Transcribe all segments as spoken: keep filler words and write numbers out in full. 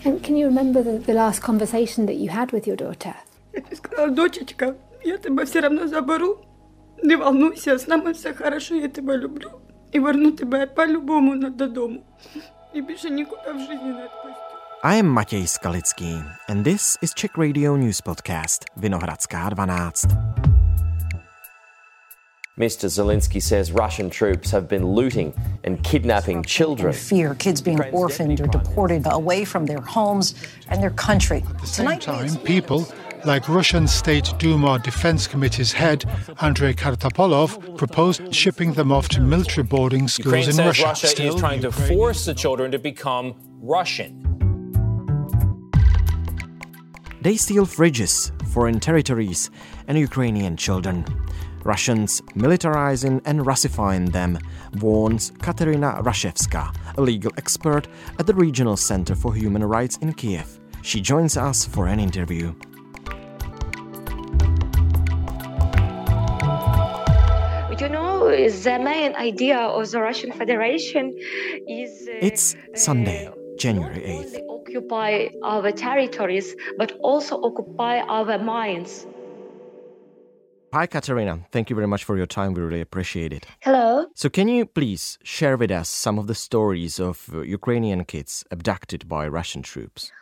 And can you remember the, the last conversation that you had with your daughter? Я тебе сказала, дочечка, я тебя все равно заберу. Не волнуйся, с нами все хорошо, я тебя люблю. И верну тебя по-любому додому. И больше никуда в жизни не отпустю. I am Matěj Skalický, and this is Czech Radio News Podcast, Vinohradská dvanáct. Mister Zelensky says Russian troops have been looting and kidnapping children. Fear kids being orphaned or deported away from their homes and their country. At the same time, people like Russian State Duma Defense Committee's head, Andrei Kartapolov, proposed shipping them off to military boarding schools Ukraine in says Russia. Russia Still, is trying to force the children to become Russian. They steal fridges, foreign territories, and Ukrainian children. Russians militarizing and Russifying them, warns Katerina Rashevska, a legal expert at the Regional Center for Human Rights in Kiev. She joins us for an interview. You know, the main idea of the Russian Federation is... Uh, it's Sunday, January eighth. Not only occupy our territories, but also occupy our minds. Hi, Katerina. Thank you very much for your time. We really appreciate it. Hello. So can you please share with us some of the stories of uh, Ukrainian kids abducted by Russian troops?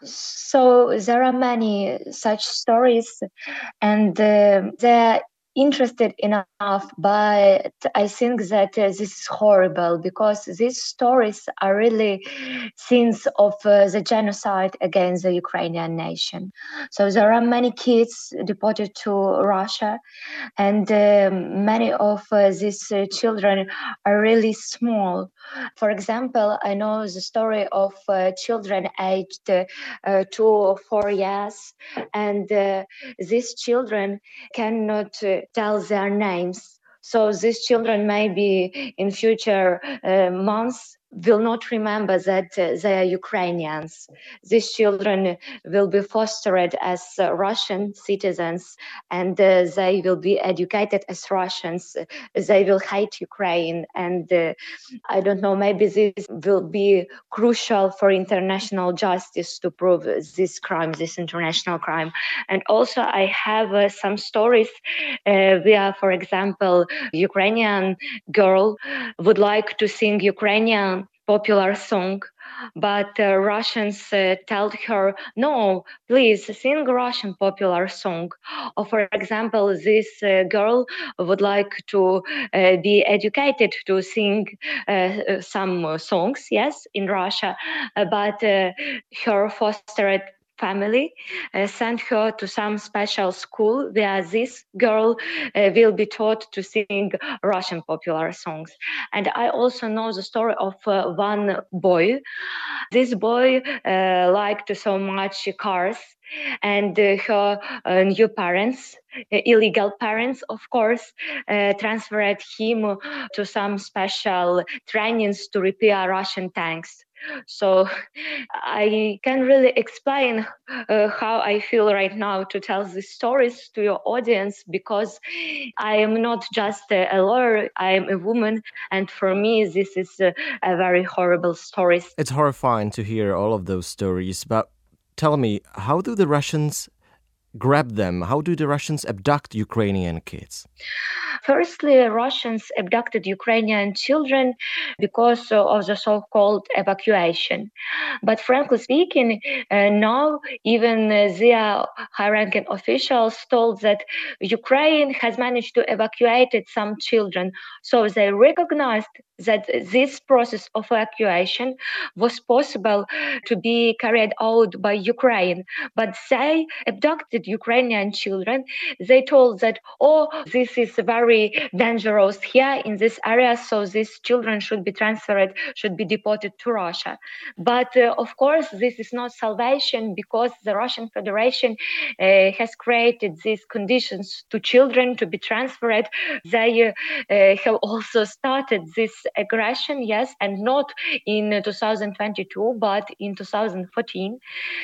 So there are many such stories, and uh, they're interested enough, but I think that uh, this is horrible because these stories are really scenes of uh, the genocide against the Ukrainian nation. So there are many kids deported to Russia, and uh, many of uh, these uh, children are really small. For example, I know the story of uh, children aged uh, uh, two or four years, and uh, these children cannot uh, tell their names. So these children maybe in future uh, months will not remember that uh, they are Ukrainians. These children will be fostered as uh, Russian citizens, and uh, they will be educated as Russians. They will hate Ukraine, and uh, I don't know, maybe this will be crucial for international justice to prove this crime, this international crime. And also I have uh, some stories uh, where, for example, Ukrainian girl would like to sing Ukrainian popular song, but uh, Russians uh, told her, no, please sing Russian popular song. Or for example, this uh, girl would like to uh, be educated to sing uh, some songs, yes, in Russia, uh, but uh, her foster family uh, sent her to some special school where this girl uh, will be taught to sing Russian popular songs. And I also know the story of uh, one boy. This boy uh, liked so much cars, and uh, her uh, new parents, uh, illegal parents, of course, uh, transferred him to some special trainings to repair Russian tanks. So I can really explain uh, how I feel right now to tell these stories to your audience, because I am not just a lawyer, I am a woman, and for me this is a, a very horrible story. It's horrifying to hear all of those stories, but tell me, how do the Russians grab them? How do the Russians abduct Ukrainian kids? Firstly, Russians abducted Ukrainian children because of the so-called evacuation. But frankly speaking, uh, now even uh, their high-ranking officials told that Ukraine has managed to evacuate some children. So they recognized that this process of evacuation was possible to be carried out by Ukraine. But they abducted Ukrainian children. They told that, oh, this is very dangerous here in this area, so these children should be transferred, should be deported to Russia. But uh, of course, this is not salvation, because the Russian Federation uh, has created these conditions to children to be transferred. They uh, uh, have also started this aggression, yes, and not in two thousand twenty-two, but in two thousand fourteen.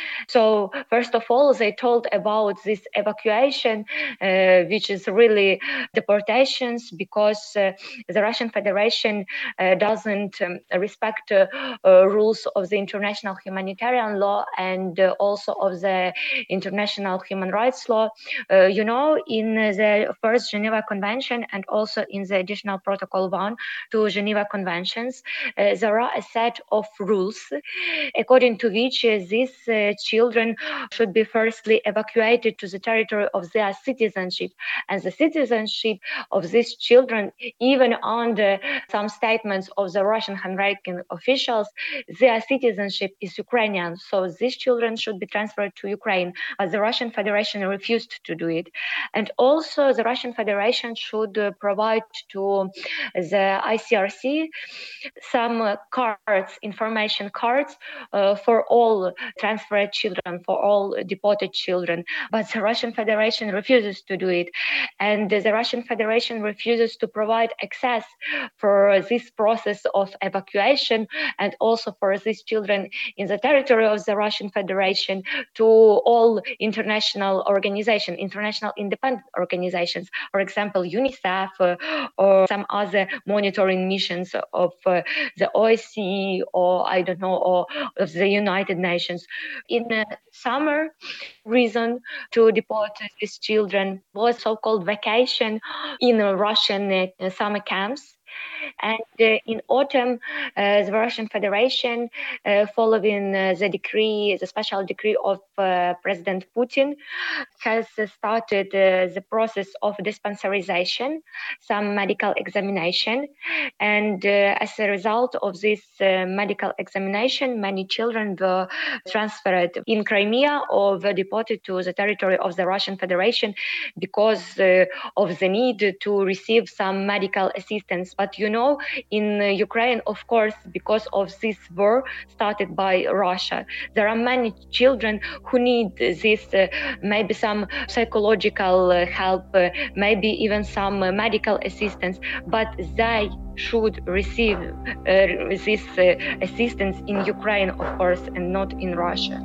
So first of all, they told about this evacuation, uh, which is really deportations, because uh, the Russian Federation uh, doesn't um, respect uh, uh, rules of the international humanitarian law and uh, also of the international human rights law. Uh, you know, in the first Geneva Convention and also in the additional Protocol one to Geneva Conventions, uh, there are a set of rules according to which uh, these uh, children should be firstly evacuated to the territory of their citizenship. And the citizenship of these children, even under some statements of the Russian high-ranking officials, their citizenship is Ukrainian. So these children should be transferred to Ukraine, but the Russian Federation refused to do it. And also the Russian Federation should uh, provide to the I C R C some uh, cards, information cards uh, for all transferred children, for all deported children. But the Russian Federation refuses to do it. And the Russian Federation refuses to provide access for this process of evacuation and also for these children in the territory of the Russian Federation to all international organizations, international independent organizations, for example, UNICEF uh, or some other monitoring missions of uh, the O S C E or I don't know, or of the United Nations. In the summer, reason to deport these children was so-called vacation in Russian uh, summer camps. And uh, in autumn, uh, the Russian Federation, uh, following uh, the decree, the special decree of uh, President Putin, has uh, started uh, the process of dispensarization, some medical examination. And uh, as a result of this uh, medical examination, many children were transferred in Crimea or were deported to the territory of the Russian Federation because uh, of the need to receive some medical assistance. But you know, in uh, Ukraine, of course, because of this war started by Russia, there are many children who need this, uh, maybe some psychological uh, help, uh, maybe even some uh, medical assistance, but they should receive uh, this uh, assistance in Ukraine, of course, and not in Russia.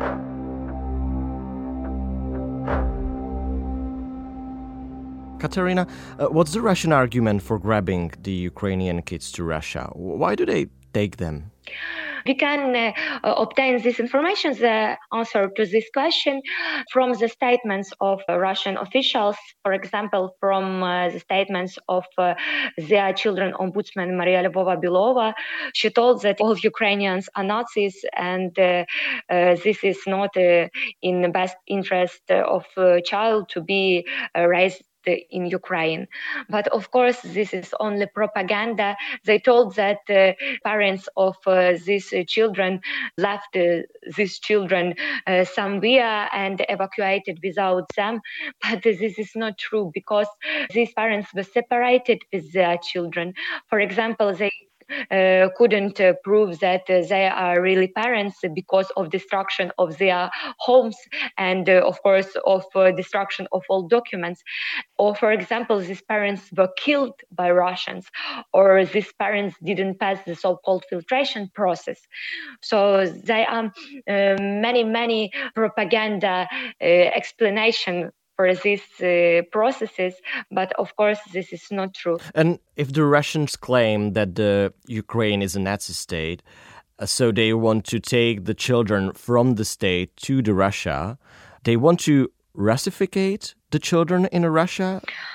Katerina, uh, what's the Russian argument for grabbing the Ukrainian kids to Russia? Why do they take them? We can uh, obtain this information, the answer to this question, from the statements of uh, Russian officials, for example, from uh, the statements of uh, their children ombudsman Maria Lvova-Belova. She told that all Ukrainians are Nazis and uh, uh, this is not uh, in the best interest of a child to be uh, raised in Ukraine. But of course, this is only propaganda. They told that uh, parents of uh, these uh, children left uh, these children uh, somewhere and evacuated without them. But this is not true because these parents were separated with their children. For example, they Uh, couldn't uh, prove that uh, they are really parents because of destruction of their homes and uh, of course of uh, destruction of all documents. Or for example, these parents were killed by Russians, or these parents didn't pass the so-called filtration process. So there are uh, many many propaganda uh, explanation for these uh, processes, but of course this is not true. And if the Russians claim that the Ukraine is a Nazi state, uh, so they want to take the children from the state to the Russia, they want to Russificate the children in Russia?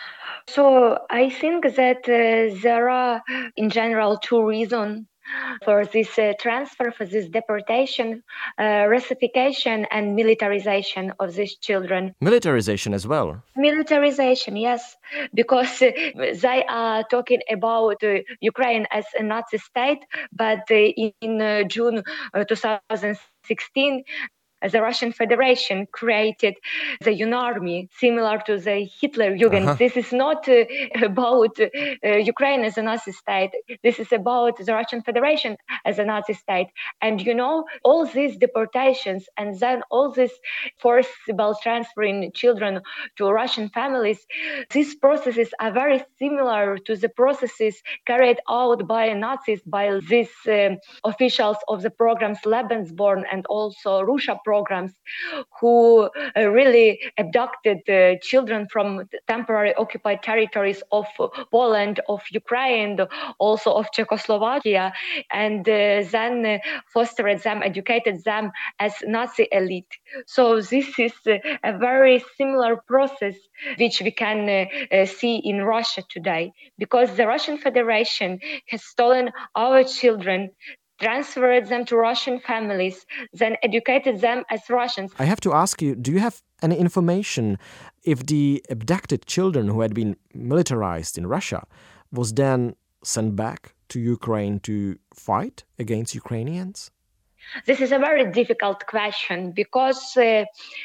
So I think that uh, there are in general two reasons for this uh, transfer, for this deportation, uh, Russification and militarization of these children. Militarization as well? Militarization, yes, because uh, they are talking about uh, Ukraine as a Nazi state, but uh, in uh, June uh, two thousand sixteen, the Russian Federation created the UNARMY, similar to the Hitler Jugend. Uh-huh. This is not uh, about uh, Ukraine as a Nazi state. This is about the Russian Federation as a Nazi state. And you know, all these deportations and then all this forcible transferring children to Russian families, these processes are very similar to the processes carried out by Nazis, by these uh, officials of the programs Lebensborn and also Russia programs, who uh, really abducted uh, children from temporary occupied territories of Poland, of Ukraine, also of Czechoslovakia, and uh, then uh, fostered them, educated them as Nazi elite. So this is uh, a very similar process which we can uh, uh, see in Russia today, because the Russian Federation has stolen our children, transferred them to Russian families, then educated them as Russians. I have to ask you, do you have any information if the abducted children who had been militarized in Russia was then sent back to Ukraine to fight against Ukrainians? This is a very difficult question, because uh,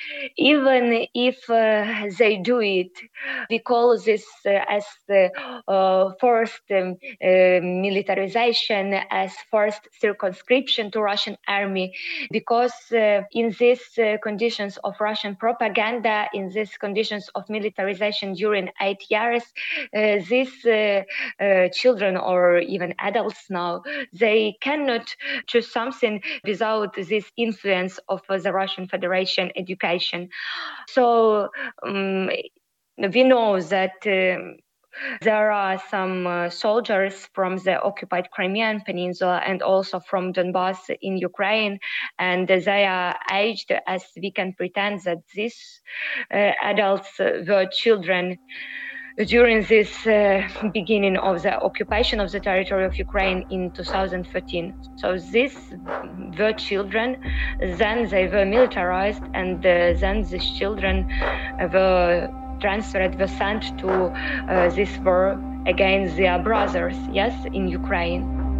even if uh, they do it, we call this uh, as the uh, forced um, uh, militarization, as forced circumscription to Russian army, because uh, in these uh, conditions of Russian propaganda, in these conditions of militarization during eight years, uh, these uh, uh, children or even adults now, they cannot choose something without this influence of uh, the Russian Federation education. So um, we know that um, there are some uh, soldiers from the occupied Crimean Peninsula and also from Donbass in Ukraine, and they are aged as we can pretend that these uh, adults were children during this uh, beginning of the occupation of the territory of Ukraine in two thousand thirteen. So these were children, then they were militarized, and uh, then these children were transferred, were sent to uh, this war against their brothers, yes, in Ukraine.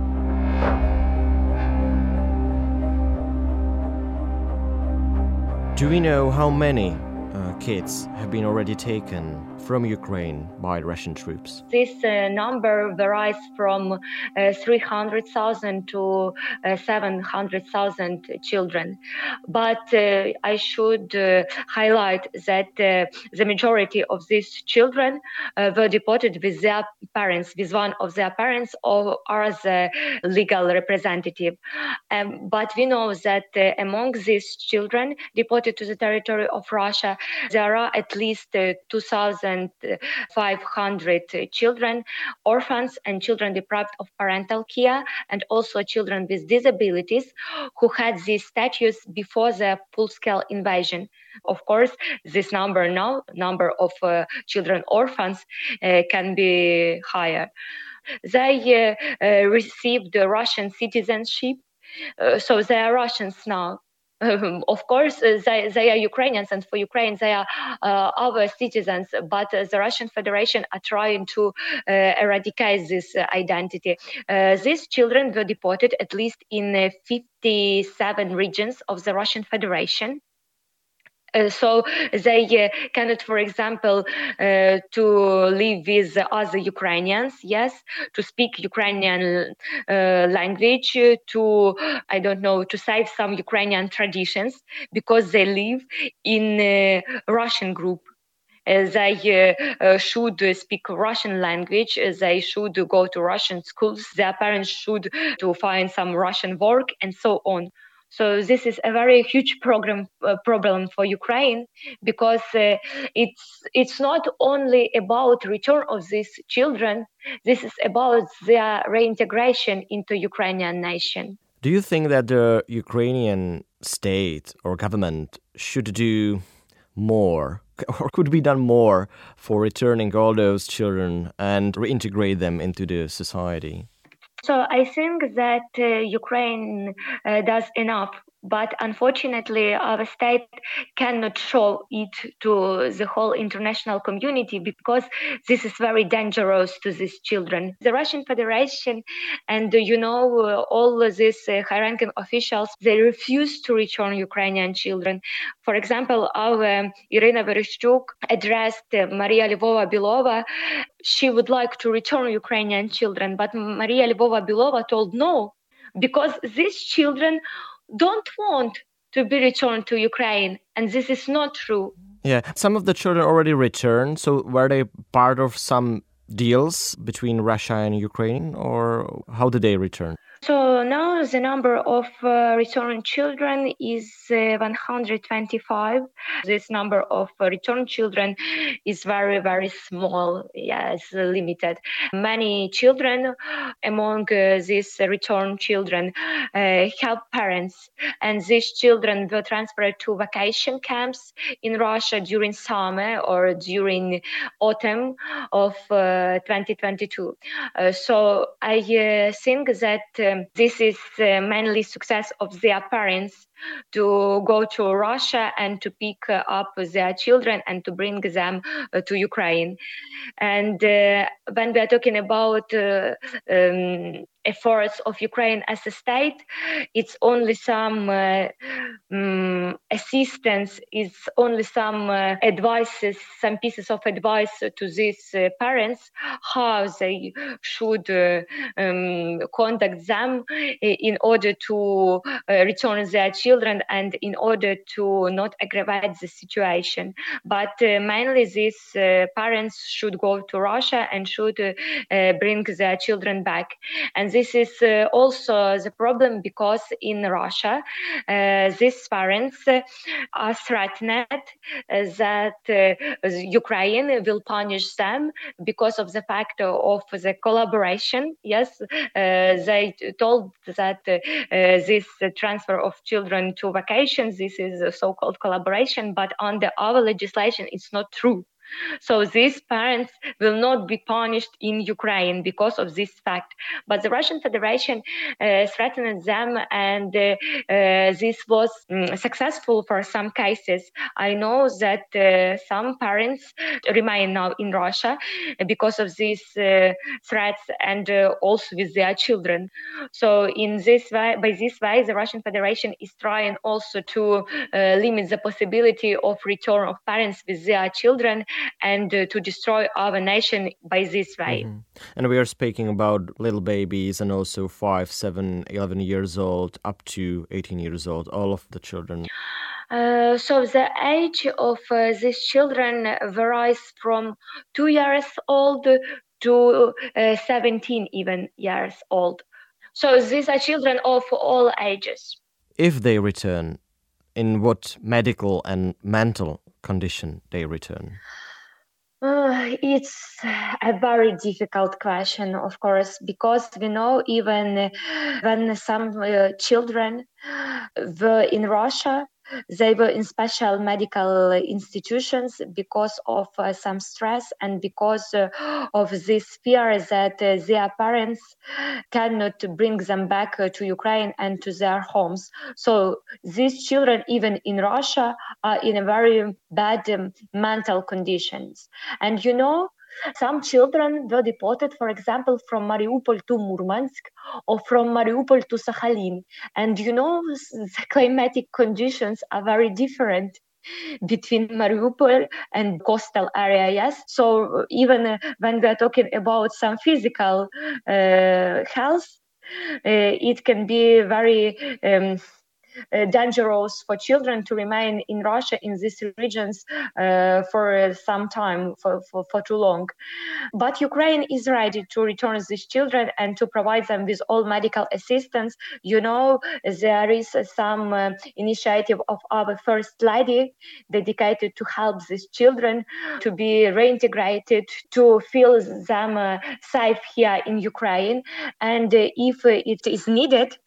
Do we know how many uh, kids have been already taken from Ukraine by Russian troops? This uh, number varies from uh, three hundred thousand to uh, seven hundred thousand children. But uh, I should uh, highlight that uh, the majority of these children uh, were deported with their parents, with one of their parents or as a legal representative. Um, but we know that uh, among these children deported to the territory of Russia, there are at least uh, two thousand five hundred children, orphans and children deprived of parental care, and also children with disabilities who had this status before the full-scale invasion. Of course, this number now, number of uh, children orphans uh, can be higher. They uh, uh, received Russian citizenship, uh, so they are Russians now. Um, of course, uh, they, they are Ukrainians, and for Ukraine, they are uh, our citizens. But uh, the Russian Federation are trying to uh, eradicate this uh, identity. Uh, these children were deported at least in uh, fifty-seven regions of the Russian Federation. Uh, so they uh, cannot, for example, uh, to live with other Ukrainians, yes, to speak Ukrainian uh, language, uh, to, I don't know, to save some Ukrainian traditions, because they live in a Russian group. Uh, they uh, uh, should speak Russian language, uh, they should go to Russian schools, their parents should to find some Russian work, and so on. So this is a very huge program, uh, problem for Ukraine, because uh, it's it's not only about return of these children, this is about their reintegration into Ukrainian nation. Do you think that the Ukrainian state or government should do more, or could be done more, for returning all those children and reintegrate them into the society? So I think that uh, Ukraine uh, does enough But unfortunately, our state cannot show it to the whole international community because this is very dangerous to these children. The Russian Federation and, you know, all these uh, high-ranking officials, they refuse to return Ukrainian children. For example, our um, Irina Vereshchuk addressed uh, Maria Lvova-Belova. She would like to return Ukrainian children, but Maria Lvova-Belova told no, because these children don't want to be returned to Ukraine, and this is not true. Yeah, some of the children already returned, so were they part of some deals between Russia and Ukraine, or how did they return? So now the number of uh, returned children is uh, one hundred twenty-five. This number of uh, returned children is very, very small. Yes, limited. Many children among uh, these returned children uh, have parents, and these children were transferred to vacation camps in Russia during summer or during autumn of uh, twenty twenty-two. Uh, so I uh, think that um, this is uh, mainly success of their parents to go to Russia and to pick uh, up their children and to bring them uh, to Ukraine. And uh, when we are talking about uh, um, efforts of Ukraine as a state, it's only some uh, um, assistance, it's only some uh, advices, some pieces of advice to these uh, parents, how they should uh, um, contact them in order to uh, return their children and in order to not aggravate the situation. But uh, mainly these uh, parents should go to Russia and should uh, uh, bring their children back. And this is uh, also the problem because in Russia, uh, these parents uh, are threatened uh, that uh, Ukraine will punish them because of the fact of the collaboration. Yes, uh, they told that uh, uh, this transfer of children to vacations, this is a so-called collaboration, but under our legislation, it's not true. So these parents will not be punished in Ukraine because of this fact. But the Russian Federation uh, threatened them, and uh, uh, this was um, successful for some cases. I know that uh, some parents remain now in Russia because of these uh, threats and uh, also with their children. So in this way, by this way, the Russian Federation is trying also to uh, limit the possibility of return of parents with their children and uh, to destroy our nation by this way. Mm-hmm. And we are speaking about little babies and also five, seven, eleven years old, up to eighteen years old, all of the children. Uh, so the age of uh, these children varies from two years old to uh, seventeen even years old. So these are children of all ages. If they return, in what medical and mental condition they return? Uh, it's a very difficult question, of course, because we know even when some uh, children were in Russia, they were in special medical institutions because of uh, some stress and because uh, of this fear that uh, their parents cannot bring them back uh, to Ukraine and to their homes. So these children, even in Russia, are in a very bad um, mental conditions. And you know, some children were deported, for example, from Mariupol to Murmansk or from Mariupol to Sakhalin. And you know, the climatic conditions are very different between Mariupol and coastal area, yes? So even uh, when we are talking about some physical uh, health, uh, it can be very um, Uh, dangerous for children to remain in Russia in these regions uh, for some time, for, for, for too long. But Ukraine is ready to return these children and to provide them with all medical assistance. You know, there is some uh, initiative of our First Lady dedicated to help these children to be reintegrated, to feel them uh, safe here in Ukraine. And uh, if uh, it is needed,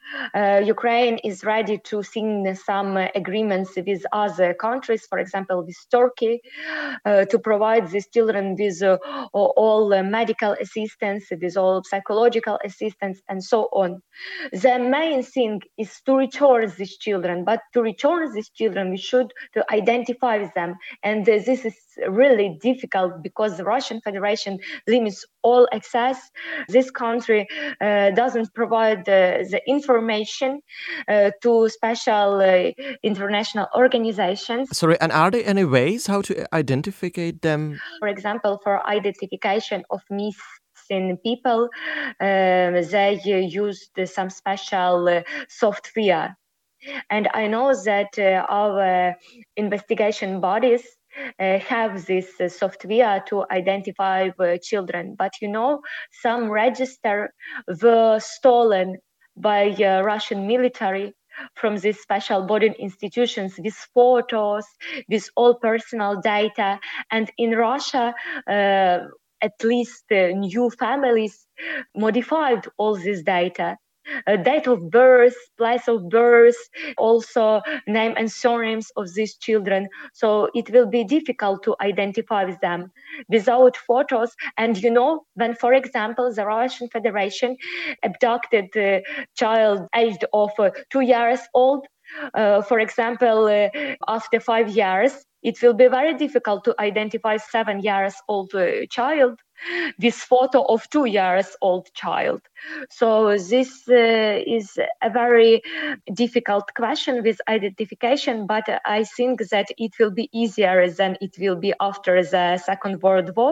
Uh, Ukraine is ready to sign some uh, agreements with other countries, for example, with Turkey, uh, to provide these children with uh, all uh, medical assistance, with all psychological assistance, and so on. The main thing is to return these children, but to return these children, we should to identify them. And uh, this is really difficult because the Russian Federation limits all access. This country uh, doesn't provide uh, the information uh, to special uh, international organizations. Sorry, and are there any ways how to identify them? For example, for identification of missing people, uh, they uh, used some special uh, software. And I know that uh, our investigation bodies Uh, have this uh, software to identify uh, children. But you know, some register were stolen by uh, Russian military from these special boarding institutions with photos, with all personal data. And in Russia, uh, at least uh, new families modified all this data. Uh, date of birth, place of birth, also name and surnames of these children. So it will be difficult to identify them without photos. And you know, when, for example, the Russian Federation abducted a child aged of uh, two years old, uh, for example, uh, after five years, it will be very difficult to identify seven years old uh, child this photo of two years old child. So this uh, is a very difficult question with identification, but I think that it will be easier than it will be after the Second World War.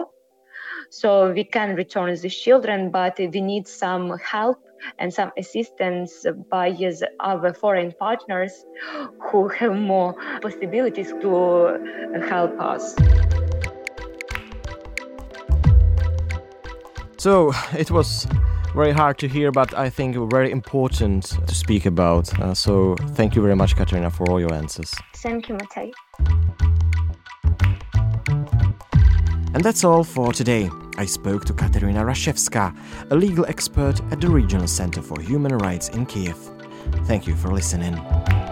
So we can return these children, but we need some help and some assistance by our foreign partners who have more possibilities to help us. So it was very hard to hear, but I think very important to speak about. Uh, so thank you very much, Katerina, for all your answers. Thank you, Matej. And that's all for today. I spoke to Katerina Rashevska, a legal expert at the Regional Center for Human Rights in Kiev. Thank you for listening.